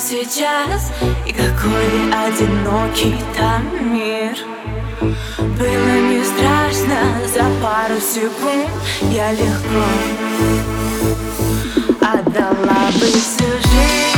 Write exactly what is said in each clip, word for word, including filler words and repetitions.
сейчас, и какой одинокий там мир. Было не страшно, за пару секунд я легко отдала бы всю жизнь.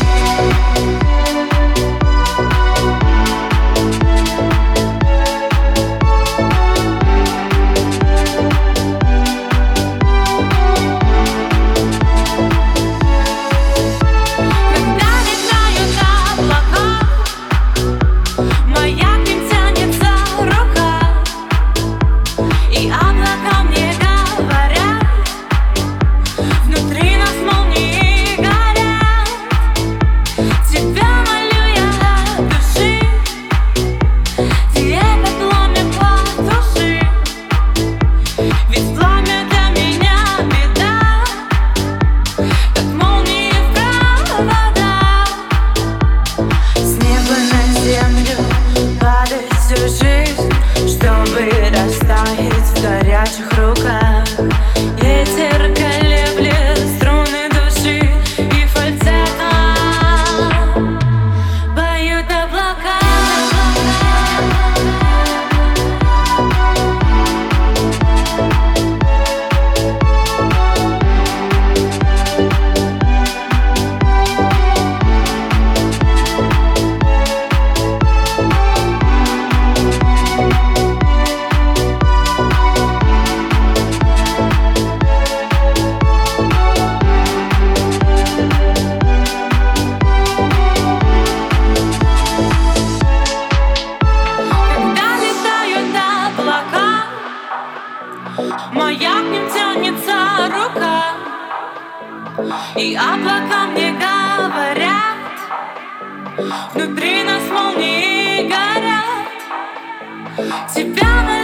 Ветер колеблет струны души, и фальцетом поют облака. Моя к ним тянется рука, и облака мне говорят, внутри нас молнии горят. Тебя